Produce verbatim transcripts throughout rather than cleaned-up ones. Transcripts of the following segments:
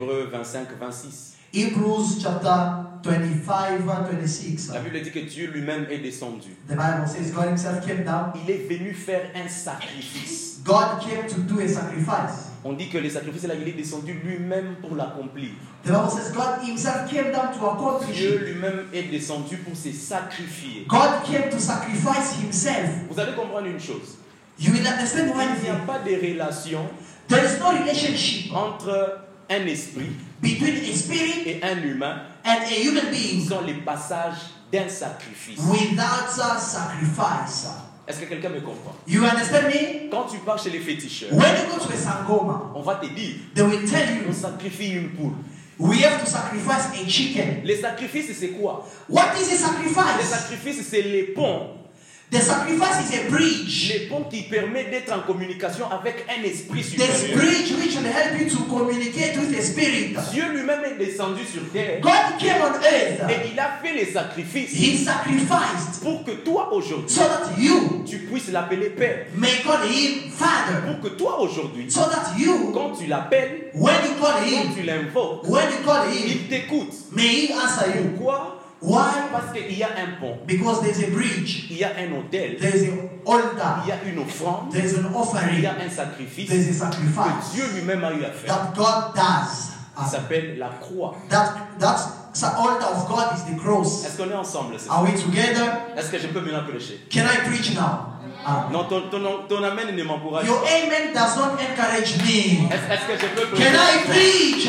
Hébreux vingt-cinq, vingt-six. Hebrews chapter twenty-five, twenty-six. La Bible dit que Dieu lui-même est descendu. The Bible says God himself came down. Il est venu faire un sacrifice. God came to do a sacrifice. On dit que le sacrifice, là, il est descendu lui-même pour l'accomplir. The Bible says God himself came down to accomplish Dieu it. lui-même est descendu pour se sacrifier. God came to sacrifice himself. Vous allez comprendre une chose. You will understand one Il n'y a thing. pas de relation There is no relationship entre un esprit between a spirit et un humain and a human being sans les passages d'un sacrifice. without a sacrifice. Est-ce que quelqu'un me comprend? You understand me? Quand tu pars chez les féticheurs, When you go to a sangoma, on va te dire, they will tell on you sacrifie une poule. we have to sacrifice a chicken. Les sacrifices, c'est quoi? What is a Les sacrifice? sacrifices, c'est les ponts. The sacrifice is a bridge. Les ponts qui permettent d'être en communication avec un esprit This supérieur. bridge which will help you to communicate with the spirit. Dieu lui-même est descendu sur terre God came on earth. et il a fait les sacrifices He sacrificed pour que toi aujourd'hui, so that you tu puisses l'appeler Père. may call him Father. Pour que toi aujourd'hui, So that you, quand tu l'appelles, when you call quand him, tu l'invoques, when you call him, il t'écoute. may he answer you. Pourquoi? Why? Parce qu'il y a un pont, Because there's a bridge, il y a un autel, there's an il altar, y a une offrande, there's an il offering, y a un sacrifice there's a que sacrifice Dieu lui-même a eu à faire. that God does. Il s'appelle la croix. That that the altar of God is the cross. Est-ce qu'on est ensemble? c'est ça? Are we together? Est-ce que je peux maintenant prêcher? Can I preach now? Ah. Non, ton, ton, ton amen ne m'encourage Your pas. amen does not encourage me. Est-ce est-ce que je peux prêcher? Can I preach?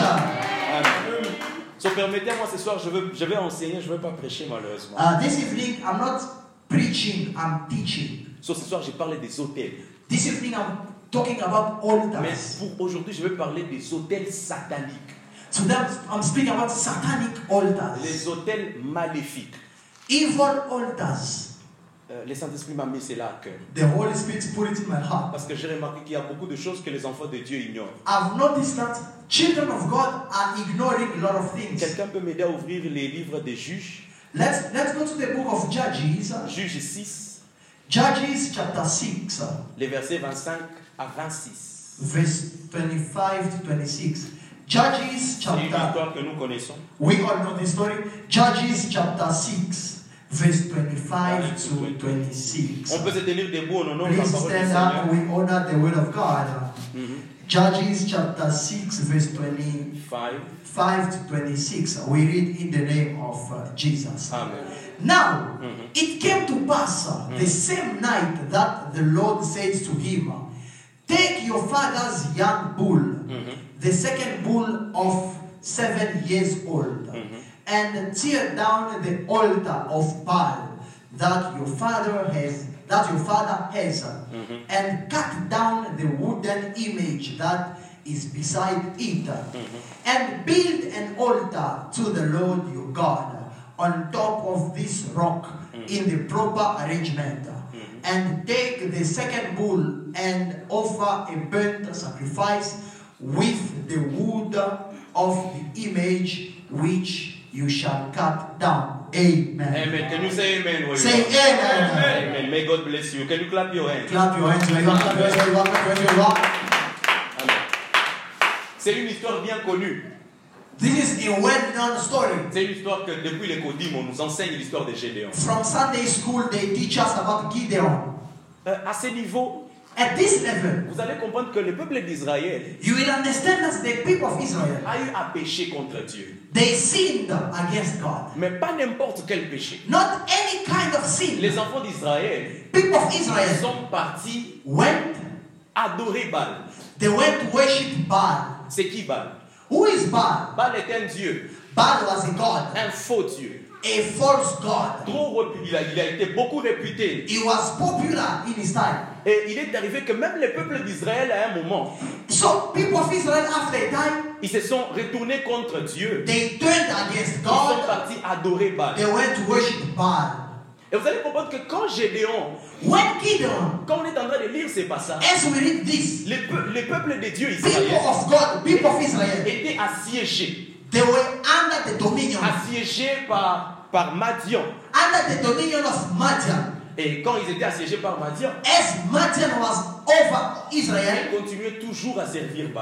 Amen. So, permettez-moi ce soir, je, veux, je vais enseigner, je ne vais pas prêcher malheureusement. Uh, this evening, I'm not preaching, I'm teaching. So, ce soir, j'ai parlé des hôtels. This evening, I'm talking about Mais altars. pour aujourd'hui, je vais parler des hôtels sataniques. So that I'm speaking about satanic altars, Les hôtels maléfiques. evil altars. Euh, le Saint-Esprit m'a mis cela à cœur. The Holy Spirit put it in my heart. Parce que j'ai remarqué qu'il y a beaucoup de choses que les enfants de Dieu ignorent. I've noticed that children of God are ignoring a lot of things. Quelqu'un peut m'aider à ouvrir les livres des juges? Let's let's go to the book of Judges. Juges six, Judges chapter six, les versets vingt-cinq à vingt-six. verse twenty-five to twenty-six. Judges C'est une chapter. histoire que nous connaissons. We all know the story. Judges chapter six, verse twenty-five to twenty-six. On peut se tenir debout en honneur de la Please parole du stand Seigneur. up. We honor the word of God. Mhm. Judges chapter six, verse twenty-five Five. to twenty-six. We read in the name of uh, Jesus. Amen. Now, Mhm. it came to pass uh, the same night that the Lord said to him, take your father's young bull, Mhm. the second bull of seven years old, Mhm. and tear down the altar of Baal that your father has, that your father has, Mhm. and cut down the wooden image that is beside it, and build an altar to the Lord your God on top of this rock in the proper arrangement, and take the second bull and offer a burnt sacrifice with the wood of the image which you shall cut down. Amen. Amen. Can you say amen? where you Say are? amen. Amen. May God bless you. Can you clap your hands? Clap your hands where you are, clap your hands where you are, clap your hands where you are. Amen. C'est une histoire bien connue. This is a well-known story. C'est une histoire que depuis les Codim, on nous enseigne l'histoire de Gédéon. From Sunday school, they teach us about Gideon. Euh, à ce niveau, At this level, vous allez comprendre que le peuple d'Israël you will understand that the people of Israel, a eu à pécher contre Dieu. they sinned against God. Mais pas n'importe quel péché. Not any kind of sin. Les enfants d'Israël People of Israel sont partis went, adorer Baal. they went to worship Baal. C'est qui Baal? Who is Baal? Baal est un dieu, Baal was a god, un faux dieu. a false god. Trop réputé, il a, il a été beaucoup réputé. He was popular in his time. Et il est arrivé que même les peuples d'Israël, à un moment, So people of Israel after a time, ils se sont retournés contre Dieu. they turned against Ils sont God. partis adorer Baal. They went to worship Baal. Et vous allez comprendre que quand Gédéon, When Gideon, quand on est en train de lire ces passages, as we read this, les, peu- les peuples de Dieu people Israël of God, people of Israel, étaient assiégés. they were under the dominion, Assiégés par, par Madian. under the dominion of Madian. Et quand ils étaient assiégés par Madian, As Madian was over Israel, ils continuaient toujours à servir Baal.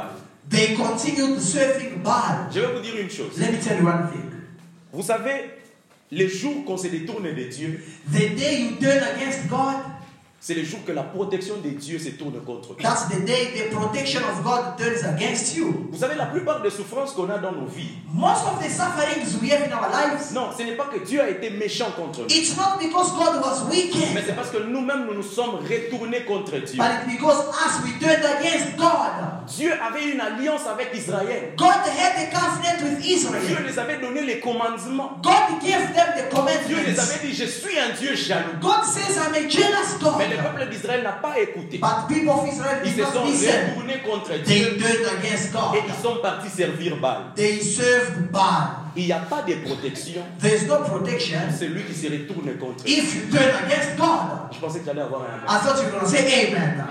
They continued serving Baal. Je vais vous dire une chose. Let me tell you one thing. Vous savez, les jours qu'on se détourne de Dieu, The day you turn against God, c'est le jour que la protection de Dieu se tourne contre toi. that's the day the protection of God turns against you. Vous savez, la plupart des souffrances qu'on a dans nos vies, Most of the sufferings we have in our lives, non, ce n'est pas que Dieu a été méchant contre nous, it's not because God was mais wicked, c'est parce que nous-mêmes nous nous sommes retournés contre Dieu. but it's because us we turned against God. Dieu avait une alliance avec Israël. God had a covenant with Dieu Israel. les avait donné les commandements. God gave them the Dieu les commandments. avait dit, je suis un Dieu jaloux. God says, I'm a jealous Mais le God. peuple d'Israël n'a pas écouté. But people of Israel Ils did se sont not listen. retournés contre They Dieu turned against God. et ils sont partis servir Baal. They served Baal. Il n'y a pas de protection. There's no protection C'est lui qui se retourne contre Dieu. if you turn against God. Je pensais que j'allais avoir un I thought you were going to say amen.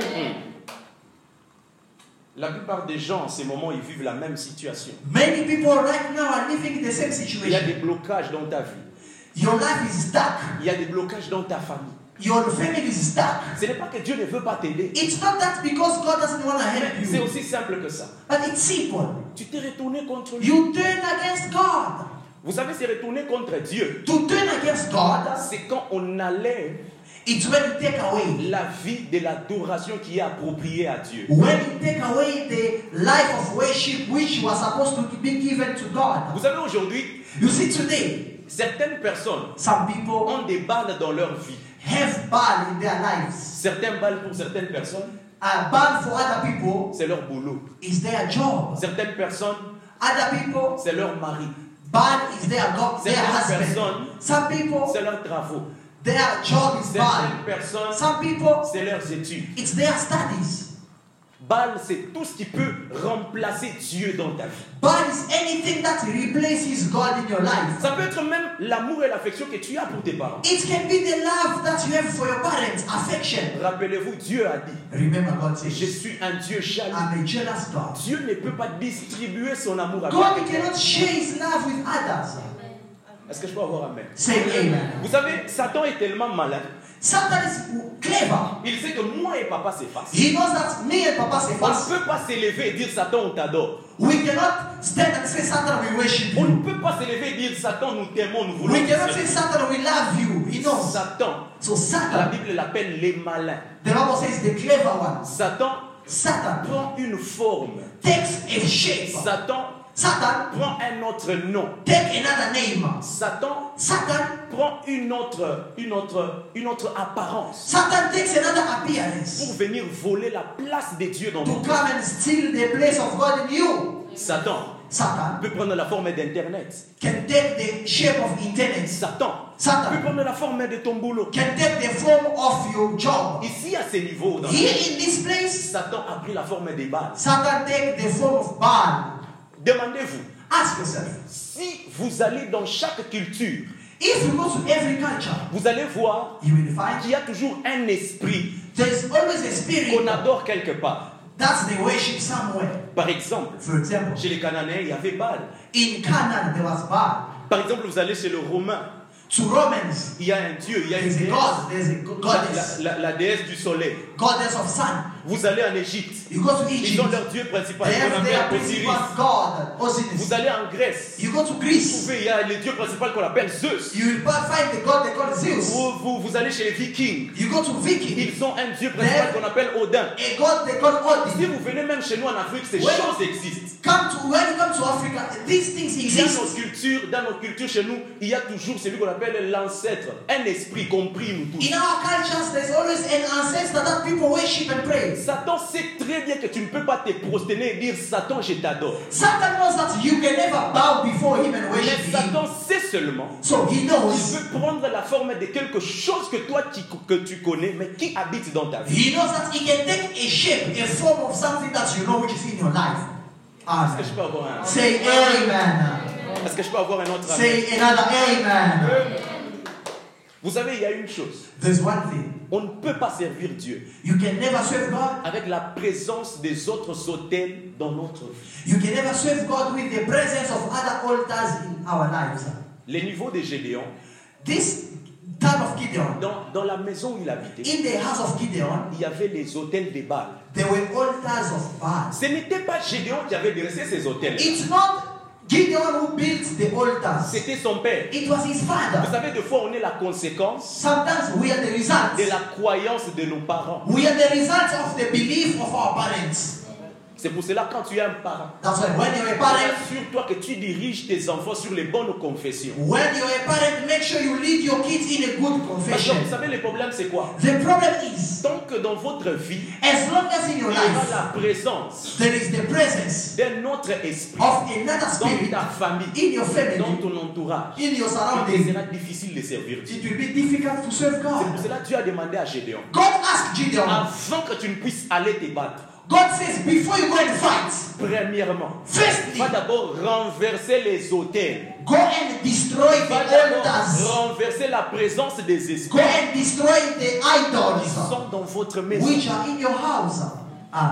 La plupart des gens, en ces moments, ils vivent la même situation. Many people right now are living in the same Il y a situation. des blocages dans ta vie. Your life is stuck. Il y a des blocages dans ta famille. Your family is stuck. Ce n'est pas que Dieu ne veut pas t'aider. It's not that because God doesn't want to help C'est you, aussi simple que ça. but it's simple. Tu t'es retourné contre lui. You turn against God. Vous savez, c'est retourner contre Dieu. To turn against God, C'est quand on enlève it's when you take away. la vie de l'adoration qui est appropriée à Dieu. When you take away the life of worship which was supposed to be given to God. Vous savez, aujourd'hui, You see today, certaines personnes some people ont des balles dans leur vie. have Baal in their lives. Certaines balles pour certaines personnes, A Baal for other people c'est leur boulot. is their job. Certaines personnes, Other people, c'est leur mari. Baal is their God, their Certaines husband. personnes, Some people, c'est leurs travaux. their job is Baal. Certaines personnes, Some people, c'est leurs études. it's their studies. Baal, c'est tout ce qui peut remplacer Dieu dans ta vie. Baal is anything that replaces God in your life. Ça peut être même l'amour et l'affection que tu as pour tes parents. It can be the love that you have for your parents, affection. Rappelez-vous, Dieu a dit, Remember, God je says, suis un Dieu jaloux. I'm a jealous God. Dieu ne peut pas distribuer son amour avec God quelqu'un. cannot share his love with others. Est-ce que je peux avoir un amen? Say amen. Vous savez, Satan est tellement malin. Satan is clever. Il sait que moi et papa c'est facile. He knows that me and Papa say On ne fast. peut pas s'élever et dire Satan on t'adore. We cannot stand and say, Satan, we worship On you. ne peut pas s'élever et dire Satan nous t'aimons, nous voulons We te cannot say, servir. Satan, we love you. He knows. Satan, So la Satan, Bible l'appelle les malins. the Bible says the clever ones. Satan Satan prend une forme. takes a shape. Satan Satan prend un autre nom. take another name. Satan Satan, prend une autre, une autre, une autre apparence Satan takes another pour appearance venir voler la place de Dieu dans to notre vie. come and steal the place of God in you. Satan Satan peut prendre la forme d'Internet. can take the shape of internet. Satan peut Satan prendre la forme de ton boulot. can take the form of your job. Ici, à ce niveau, dans Here in this place, Satan a pris la forme des balles. Satan take the form of Baal. Demandez-vous, Ask yourself, si vous allez dans chaque culture, if you go to every culture, vous allez voir you will find qu'il y a toujours un esprit there's always a spirit qu'on adore quelque part. that's the worship somewhere. Par exemple, For example, chez les Cananéens, il y avait Baal. in Canaan there was Baal. Par exemple, vous allez chez le Romain, To Romans, il y a un dieu, il y a une there's a déesse, god, there's a go- la, goddess, la- la déesse du soleil. goddess of sun. Vous allez en Égypte, You go to ils Egypt, ont leur dieu principal, they qu'on have their appelle Osiris. principal god, Osiris. Vous allez en Grèce, You go to vous Greece, trouvez, il y a le dieu principal qu'on appelle Zeus. you will find the god they call Zeus. Vous, vous, vous allez chez les Vikings, You go to Viking, ils ont un dieu principal qu'on appelle Odin. a god they call Si Odin. vous venez même chez nous en Afrique, ces Ouais. choses existent. Come to when you come to Africa, these things Dans nos exist. cultures, dans nos cultures chez nous, il y a toujours celui qu'on appelle l'ancêtre, un esprit compris nous tous. In our cultures, there's always an ancestor that people worship and pray. Satan sait très bien que tu ne peux pas te prosterner et dire Satan, je t'adore. Satan knows that you can never bow before him and Mais worship him. Satan sait seulement So he qu'il knows, peut prendre la forme de quelque chose que toi tu- que tu connais, mais qui habite dans ta vie. he knows that he can take a shape, a form of something that you know which is in your life. Est-ce que je Amen. peux avoir un Say amen. Est-ce que je peux avoir un autre amen? Say another amen. Vous savez, il y a une chose. There's one thing. On ne peut pas servir Dieu You can never serve God. avec la présence des autres autels dans notre vie. You can never serve God with the presence of other altars in our lives. Les niveaux de Gédéon, This time of Gideon, Dans, dans la maison où il habitait, in the house of Gideon, il y avait les hôtels de Baal. there were altars of Baal. Ce n'était pas Gédéon qui avait dressé ces hôtels. It's not Gideon who built the altars. C'était son père. It was his Vous father. savez, des fois, on est la conséquence Sometimes we are the results. de la croyance de nos parents. We are the results of the belief of our parents. C'est pour cela, quand tu es un parent, That's why when you're a parent, assure-toi que tu diriges tes enfants sur les bonnes confessions. when you're a parent, make sure you lead your kids in a good Parce que confession. vous savez, le problème, c'est quoi? The problem is, Tant que dans votre vie, as long as in your il y aura life la présence there is the presence d'un autre esprit of another dans spirit ta famille, in your dans family, ton entourage, in your il surroundings, sera difficile de servir Dieu. it will be difficult to serve C'est pour God. cela que Dieu a demandé à Gédéon, God asked Gideon, avant que tu ne puisses aller te battre, God says, before you go and fight, premièrement, firstly, va d'abord renverser les autels. go and destroy the Va d'abord altars. renverser la présence des Go esprits and destroy the qui idols sont dans votre maison. which are in your house. Ah,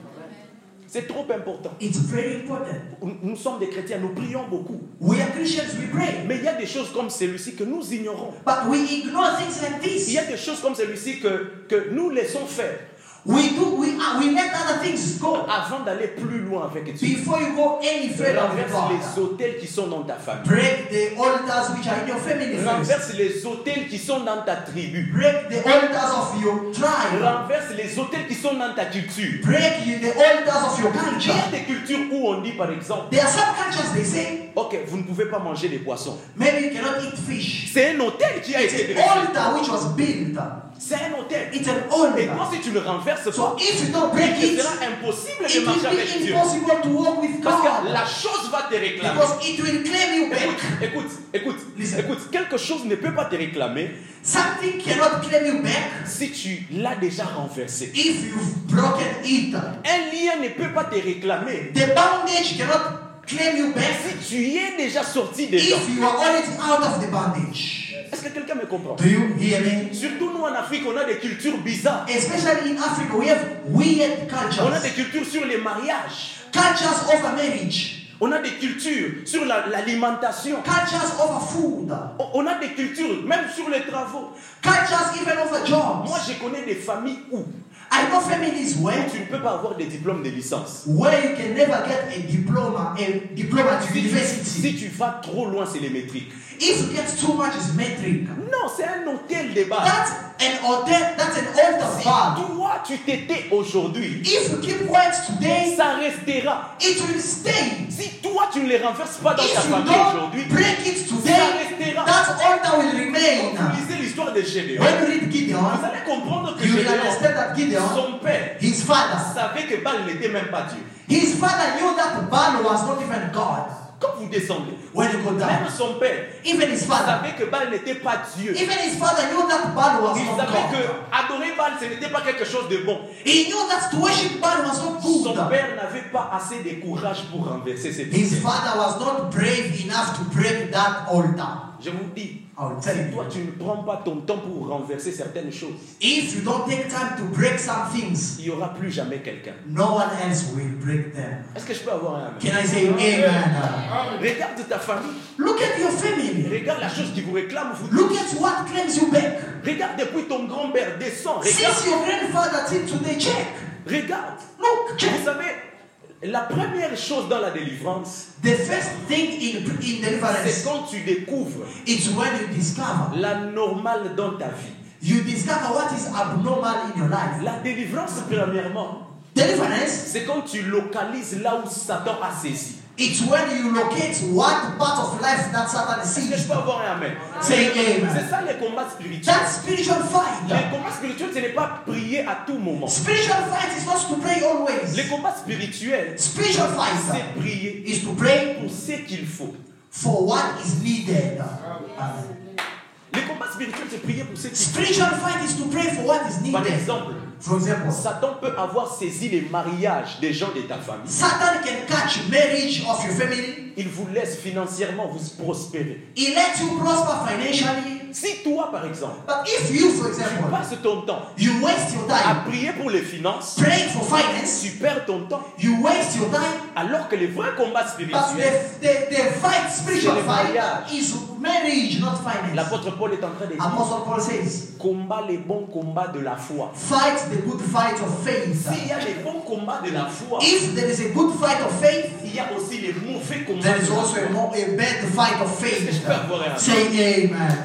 C'est trop important. it's very important. Nous sommes des chrétiens, nous prions beaucoup. We are Christians, we pray. Mais il y a des choses comme celui-ci que nous ignorons. But we ignore things like Il y a this. des choses comme celui-ci que, que nous laissons faire We do, we, uh, we let other things go avant d'aller plus loin avec Dieu. before you go any further with Renverse les God. autels qui sont dans ta famille. Break the altars which are in your family first. Renverse les autels qui sont dans ta tribu. Break the altars of your tribe. Renverse les autels qui sont dans ta culture. Break the altars of your Il y culture. a des cultures où on dit par exemple, There are some cultures they say, ok, vous ne pouvez pas manger des poissons. maybe you cannot eat fish. C'est un hôtel qui a It's été an dressé. altar which was built. C'est un hôtel. It's an Et toi, altar. si tu ne renverses So pas, if you don't break il it, sera impossible it de marcher will avec be Dieu. impossible to walk with Parce que God. la chose va te réclamer. Because it will claim you Écoute, back. écoute, écoute, Listen. écoute, quelque chose ne peut pas te réclamer Something cannot claim you back si tu l'as déjà renversé. if you've broken it. Un lien ne peut pas te réclamer The bondage cannot claim you back si tu y es déjà sorti dedans. if you are already out of the bondage. Est-ce que quelqu'un me comprend? Do you hear me? Surtout nous en Afrique, on a des cultures bizarres. Especially in Africa, we have weird On a des cultures. cultures sur les mariages. Cultures over marriage. On a des cultures sur la- l'alimentation. Cultures over food. On- On a des cultures même sur les travaux. Cultures even over jobs. Moi, je connais des familles où I know families where, tu ne peux pas avoir des diplômes de licence. where you can never get a diploma, a diploma at Si tu, university. si tu vas trop loin, c'est les métriques. If you get too much, it's metric. Non, c'est un hôtel de base. That's an altar. That's an altar Si bar. toi, tu t'étais aujourd'hui, If you keep quiet today, ça restera. it will stay. Si toi, tu ne les renverses pas dans ta If you famille don't aujourd'hui, break it ça today, restera. that altar will Quand remain. vous lisez l'histoire de Gédéon, When you read Gideon, vous allez comprendre que you will Gédéon, understand that Gideon, son père, his father, savait que Baal n'était même pas Dieu. his father knew that Baal was not even God. Quand vous descendez, When you go même down, son père even his father, savait que Baal n'était pas Dieu. even his father knew that Baal was Il not savait que God. adorer Baal, ce n'était pas quelque chose de bon. He knew that to worship Baal was not Son good. père n'avait pas assez de courage pour renverser cette His idée. father was not brave enough to break that altar. Je vous dis, I'll tell si toi you. tu ne prends pas ton temps pour renverser certaines choses, If you don't take time to break some things, il n'y aura plus jamais quelqu'un. no one else will break them. Est-ce que je peux avoir un amen? Can I say amen? Regarde ta famille. Look at your family. Regarde la chose qui vous réclame. Vous... Look at what claims you back. Regarde depuis ton grand-père descend. Regarde. Since your grandfather till today, check. Regarde. Look, check. Vous savez, la première chose dans la délivrance, The first thing in, in c'est deliverance, quand tu découvres it's when you discover. la normale dans ta vie. You discover what is abnormal in your life. La délivrance, premièrement, Deliverance, c'est quand tu localises là où Satan a saisi. it's when you locate what part of life that Satan Est-ce que je sees. peux avoir un amen? Say amen. C'est ça les combats spirituels. That spiritual fight. Les combats spirituels, ce n'est pas prier à tout moment. Spiritual fight is not to pray Les always. combats spirituels, Spiritual fight c'est prier is to pray pour ce qu'il faut. for what is needed. Amen. Les combats spirituels, c'est prier pour ce qu'il faut. Spiritual fight is to pray for what is Par needed. exemple, For example, Satan peut avoir saisi les mariages des gens de ta famille. Satan can catch marriage of your family. Il vous laisse financièrement vous prospérer. He lets you prosper financially. Si toi, par exemple, But if you, for tu example, passes ton temps you waste your à time prier pour les finances, praying for finance, tu perds ton temps. you waste your time. Alors que le vrai combat But spirituel, the, the, the fight, spiritual C'est le fight, mariage. is marriage, not finance. l'apôtre Paul est en train de dire, Apostle Paul says, combat les bons combats de la foi. fight the good fight of faith. S'il y a les bons combats de la foi, If there is a good fight of faith, il y a aussi les mauvais combats there de is la also a, foi. more, a bad fight of Est-ce que je faith. peux avoir un Say amen.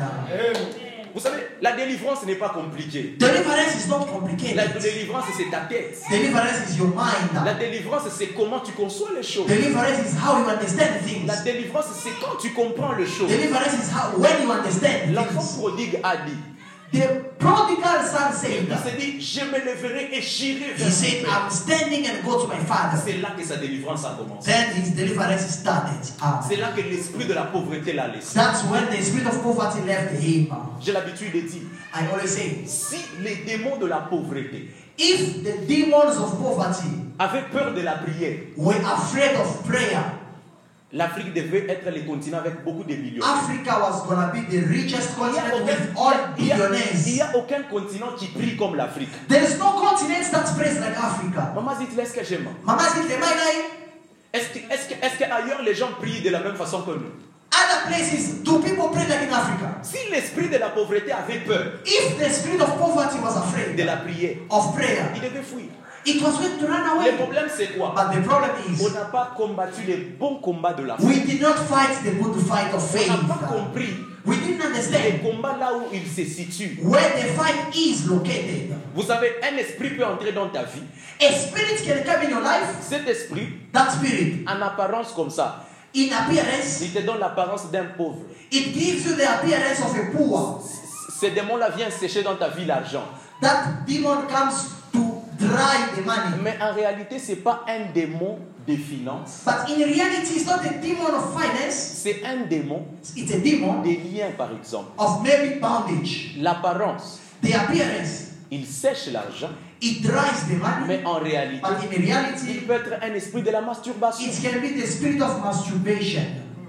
Vous savez, la délivrance n'est pas compliquée. Deliverance is not La complicated. délivrance, c'est ta tête. Deliverance is your La mind. délivrance, c'est comment tu conçois les choses. Deliverance is how you understand things. La délivrance, c'est quand tu comprends les choses. Deliverance is how when you understand L'enfant things. prodigue a dit, The prodigal son said, il s'est dit, je me lèverai et j'irai vers he mon said, père. I'm standing and go to my father. C'est là que sa délivrance a commencé. Then his deliverance started. Amen. C'est là que l'esprit de la pauvreté l'a laissé. That's when the spirit of poverty left him. J'ai l'habitude de dire, I always say, si les démons de la pauvreté if the demons of poverty avaient peur de la prière, were afraid of prayer, l'Afrique devait être le continent avec beaucoup de millionnaires. Africa was going to be the richest Il n'y a continent aucun- with all il y a- il y billionaires. a aucun continent qui prie comme l'Afrique. There is no continent that prays like Africa. Maman dit, est-ce que j'aime? Mama said, "Am I lying?" Est-ce que, est-ce que, est-ce qu'ailleurs les gens prient de la même façon que nous? Other places, do people pray like in Africa? Si l'esprit de la pauvreté avait peur If the spirit of poverty was de afraid la prière, of prayer, il devait fuir. it was going to run Le away. problème c'est quoi? But the problem On is, n'a pas combattu les bons combats de la foi. we did not fight the good fight of On n'a pas faith. compris We didn't les understand combats là où ils se situent. where the fight is located. Vous savez, un esprit peut entrer dans ta vie. A spirit can come in your life. Cet esprit, That spirit, en apparence comme ça, in appearance, il te donne l'apparence d'un pauvre. it gives you the appearance of a poor. Ces démons-là viennent sécher dans ta vie l'argent. That demon comes to dry the money. Mais en réalité, ce n'est pas un démon des finances. But in reality, it's not a demon of finance. C'est un démon It's a demon des liens, par exemple. of maybe bondage. L'apparence, The appearance, il sèche l'argent, it dries the money. mais en réalité, But in il reality, peut être un esprit de la masturbation. it can be the spirit of masturbation.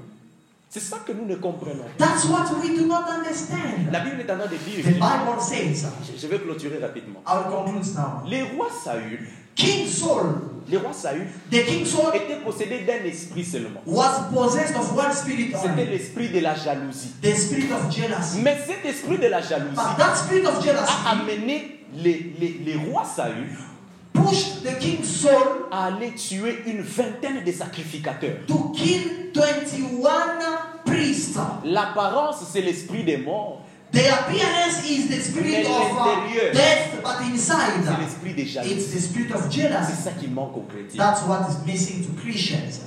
C'est ça que nous ne comprenons. That's what we do not understand. La Bible est en train de dire, The Bible says, je vais clôturer rapidement. I will conclude now. Les rois Saül, King Saul, les rois Saül the King Saul étaient possédés d'un esprit seulement. was possessed of one spirit C'était only, l'esprit de la jalousie. the spirit of jealousy. Mais cet esprit de la jalousie But that spirit of a jealousy amené les, les, les rois Saül pushed the King Saul à aller tuer une vingtaine de sacrificateurs. to kill twenty-one priests. L'apparence, c'est l'esprit des morts. The appearance is the spirit Mais of uh, l'intérieur, death, but inside, c'est l'esprit des it's jalousies. the spirit of C'est jealousy. ça qui manque aux chrétiens. That's what is missing to Christians.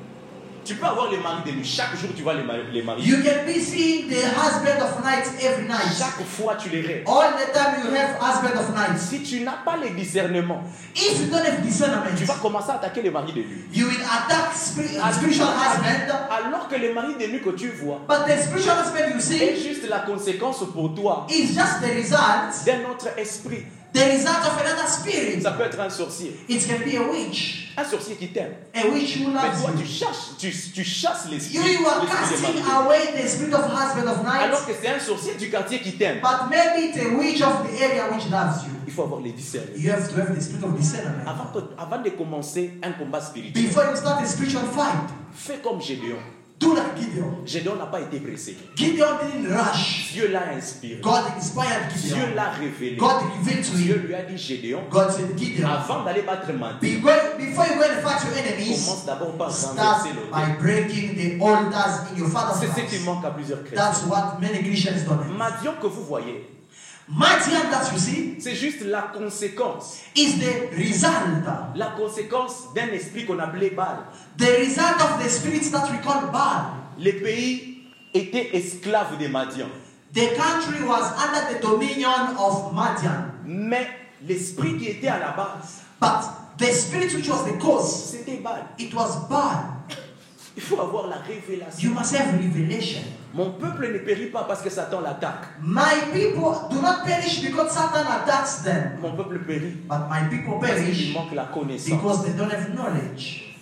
Tu peux avoir les maris de nuit. Chaque jour, tu vois les maris. Les maris. You can be seeing the husband of nights every night. Chaque fois, tu les rêves. All the time you have husband of nights. Si tu n'as pas le discernement, If you don't have discernment, tu vas commencer à attaquer les maris de nuit. you will attack spiri- uh, spiritual husband, Alors que les maris de nuit que tu vois but the spiritual husband you est see juste la conséquence pour toi is just the result, d'un autre esprit. the result of another spirit. Ça peut être un sorcier. It can be a witch, Un sorcier qui t'aime. a witch who Mais loves toi, tu you. chasses, tu, tu chasses l'esprit. You, you are l'esprit des casting maris. away the spirit of husband of night, Alors que c'est un sorcier du quartier qui t'aime. but maybe it's a witch of the area which loves you. Il faut avoir les discernements. You have to have the spirit of discernment. Avant, que- avant de commencer un combat spirituel, Before you start a spiritual fight, fais comme Gédéon. do like Gideon. Gédéon n'a pas été pressé. Gideon didn't rush. Dieu l'a inspiré. God inspired Dieu Gideon. l'a révélé. God revealed to Dieu him. lui a dit, Gédéon, God said, Gideon, avant d'aller battre Madi, Be- before you go and fight your enemies, commence d'abord par start renverser l'autel. by breaking the altars in your father's C'est ce qui house. manque à plusieurs chrétiens. That's what many Christians don't have. Madian que vous voyez, Midian that you see c'est juste la conséquence. is the result. La conséquence d'un esprit qu'on appelait Baal. The result of the spirits that we call Baal. Les pays étaient esclaves des Madians. The country was under the dominion of Midian. Mais l'esprit qui était à la base, But the spirit which was the cause, c'était Baal. it was Baal. Il faut avoir la révélation. You must have revelation. Mon peuple ne périt pas parce que Satan l'attaque. My people do not perish because Satan attacks them. Mon peuple périt But my people parce qu'il perish manque la connaissance. because they don't have knowledge.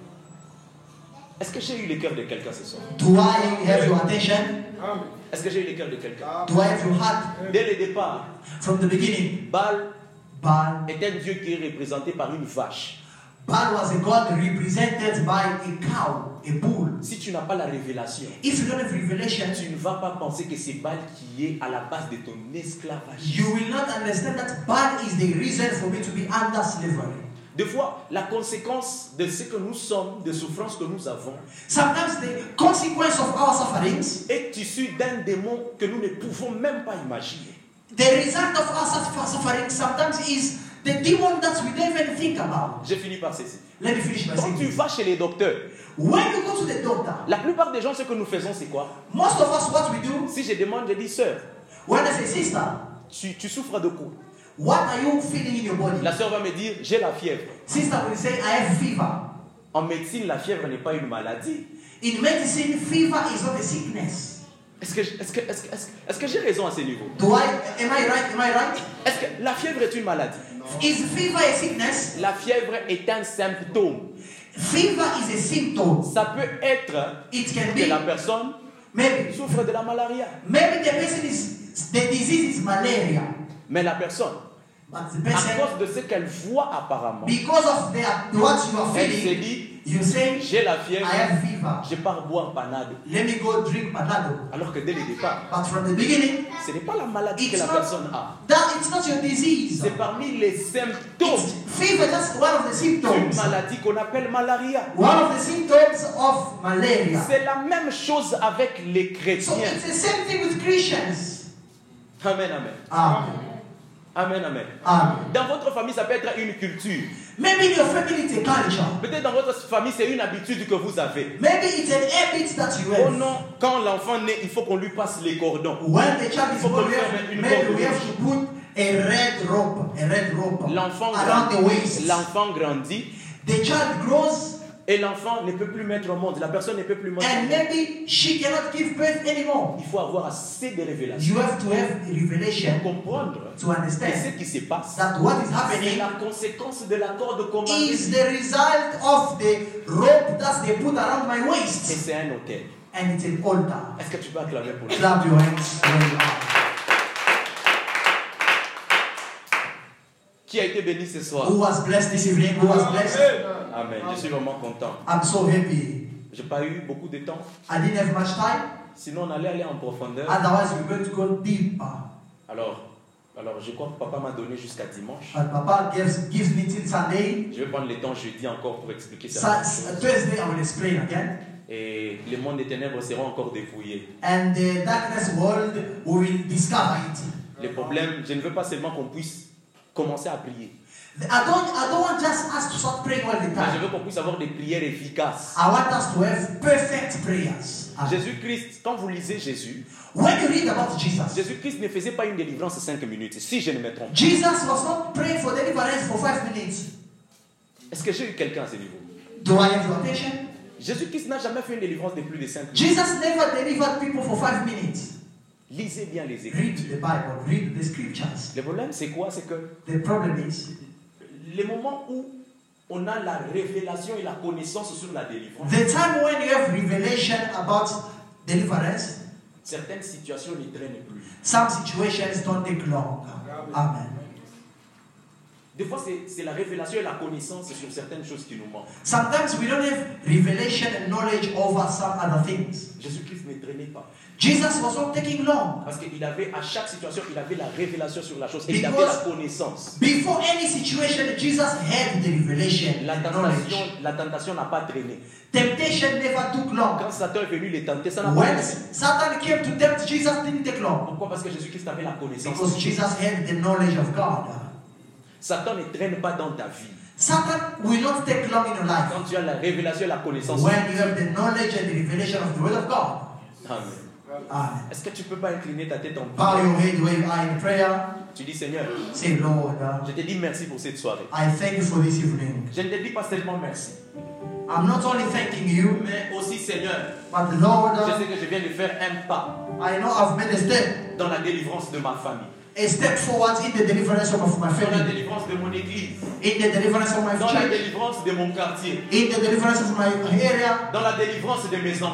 Est-ce que j'ai eu le cœur de quelqu'un ce soir? Do I have your attention? Est-ce que j'ai eu le cœur de quelqu'un? Do I have your heart? Dès le départ, From the beginning, Baal Baal, est un dieu qui est représenté par une vache. Baal was a god represented by a cow, a bull. Si tu n'as pas la révélation, If you don't have revelation, tu ne vas pas penser que c'est Baal qui est à la base de ton esclavage. you will not understand that Baal is the reason for me to be under slavery. Des fois, la conséquence de ce que nous sommes, des souffrances que nous avons, Sometimes the consequence of our sufferings, est issue d'un démon que nous ne pouvons même pas imaginer. the result of our suffer- suffering sometimes is the demon that we don't even think about. J'ai fini par ceci. Let me finish by Quand saying tu this. vas chez les docteurs, When you go to the doctor, la plupart des gens, ce que nous faisons, c'est quoi? most of us, what we do, Si je demande, je dis, sœur, when I say, sister, tu, tu souffres de quoi? what are you feeling in your body? La sœur va me dire, j'ai la fièvre. Sister will say, I have fever. En médecine, la fièvre n'est pas une maladie. In medicine, fever is not a sickness. Est-ce que, est-ce que, est-ce que, est-ce que, est-ce que j'ai raison à ce niveau? Do I, am I right? Am I right? Est-ce que la fièvre est une maladie? Is fever a sickness? La fièvre est un symptôme. Fever is a symptom. Ça peut être It can que la be, personne maybe, souffre de la malaria. maybe the person is, the disease is malaria. Mais la personne, But the à person, cause de ce qu'elle voit apparemment, because of the, what you are elle se feeling, dit, you say, j'ai la I fièvre, have fever. je pars boire panade. Let me go drink Panado. Alors que dès le départ, But from the beginning, ce n'est pas la maladie que it's la personne not, a. that, it's not your disease. C'est parmi les symptômes It's, fever is just one of the d'une symptoms. maladie qu'on appelle malaria. One of the symptoms of malaria. C'est la même chose avec les So chrétiens. it's the same thing with Christians. Amen, amen. Amen. Amen, amen. Amen. Dans votre famille, ça peut être une culture. Maybe in your family it's a culture. Peut-être dans votre famille, c'est une habitude que vous avez. Maybe it's an habit that you Oh have. non, quand l'enfant naît, il faut qu'on lui passe les cordons. When the child is Faut born, qu'on we lui have, mette une maybe corde we have rouge. to put a red rope, a red rope L'enfant around the grandit, waist. l'enfant grandit The child grows, et l'enfant ne peut plus mettre au monde. La personne ne peut plus mettre au and monde. maybe she cannot give birth anymore. Il faut avoir assez de révélations You have to have revelation pour comprendre to que understand ce qui se passe, that what is c'est happening la conséquence de la corde qu'on m'a is donnée. the result of the rope that they put around my Et waist. c'est un hôtel. And it's an altar. Est-ce que tu peux acclamer pour lui? Clap your hands where you are. Qui a été béni ce soir? Who was blessed this evening? Who was blessed? Amen. Je suis vraiment content. I'm so happy. J'ai pas eu beaucoup de temps. I didn't have much time. Sinon, on allait aller en profondeur. Otherwise, we're going to go deeper. Alors, alors je crois que papa m'a donné jusqu'à dimanche. But Papa gives, gives me till Sunday. Je vais prendre le temps jeudi encore pour expliquer Su- ça. Thursday, I will explain again. Et les mondes des ténèbres seront encore dépouillés. And the darkness world, we will discover it. Les problèmes, je ne veux pas seulement qu'on puisse commencer à prier. I don't, I don't want just us to start praying all the Mais je time. veux qu'on puisse avoir des prières efficaces. I want us to have perfect prayers. Amen. Jésus-Christ, quand vous lisez Jésus, When you read about Jesus, Jésus-Christ ne faisait pas une délivrance en cinq minutes, si je ne me trompe pas. Jesus was not praying for deliverance for five minutes. Est-ce que j'ai eu quelqu'un à ce niveau? Do I have your attention? Jésus-Christ n'a jamais fait une délivrance de plus de cinq minutes. Jesus never delivered people for five minutes. Lisez bien les Read Écritures. the Bible, read the scriptures. Le problème, c'est quoi? C'est que The problem is, les moments où on a la révélation et la connaissance sur la délivrance, the time when you have revelation about deliverance, certaines situations ne traînent plus. some situations don't take long. Amen. Des fois, c'est c'est la révélation et la connaissance sur certaines choses qui nous manquent. Sometimes we don't have revelation and knowledge over some other things. Jésus-Christ ne traînait pas. Jesus was not taking long. Parce qu'il avait, à chaque situation, il avait la révélation sur la chose et il avait Because- la connaissance. Before any situation, Jesus had the revelation La and tentation, knowledge. la tentation n'a pas traîné. Temptation never took long. Quand Satan est venu les tenter, ça n'a pas When traîné. Satan came to tempt Jesus, didn't take long. Pourquoi? Parce que Jésus-Christ avait la connaissance. Because Jesus had the knowledge of God. Satan ne traîne pas dans ta vie. Satan will not take long in your life. Quand tu as la révélation et la connaissance. When you have the knowledge and the revelation of the Word of God. Amen. Amen. Est-ce que tu peux pas incliner ta tête en Bow prière? your head where you are in prayer. Tu dis, Seigneur, Say, Lord, uh, je te dis merci pour cette soirée. I thank you for this evening. Je ne te dis pas seulement merci. I'm not only thanking you, mais aussi, Seigneur, but Lord, je sais que je viens de faire un pas I know I've made a step, dans la délivrance de ma famille, a step forward in the deliverance of my dans la family, délivrance de mon église, in the deliverance of my dans la church, délivrance de mon quartier, in the deliverance of my area, dans la délivrance de mes enfants.